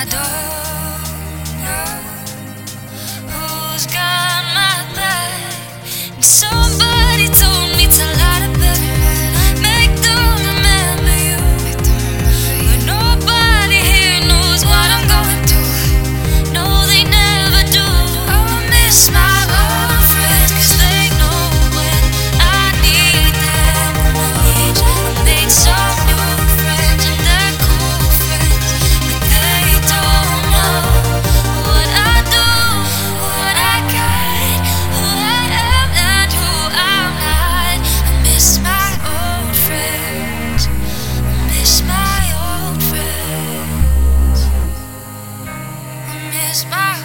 I don't know who's got my back. And somebody told me to light up every man, make them remember you. But nobody here knows what I'm going through. No, they never do. Oh, I miss my old friends, 'cause they know when I need them the most. I made some new friends and they're cool friends, but they don't know what I do, what I got, who I am and who I'm not. I miss my old friends, I miss my old friends, I miss my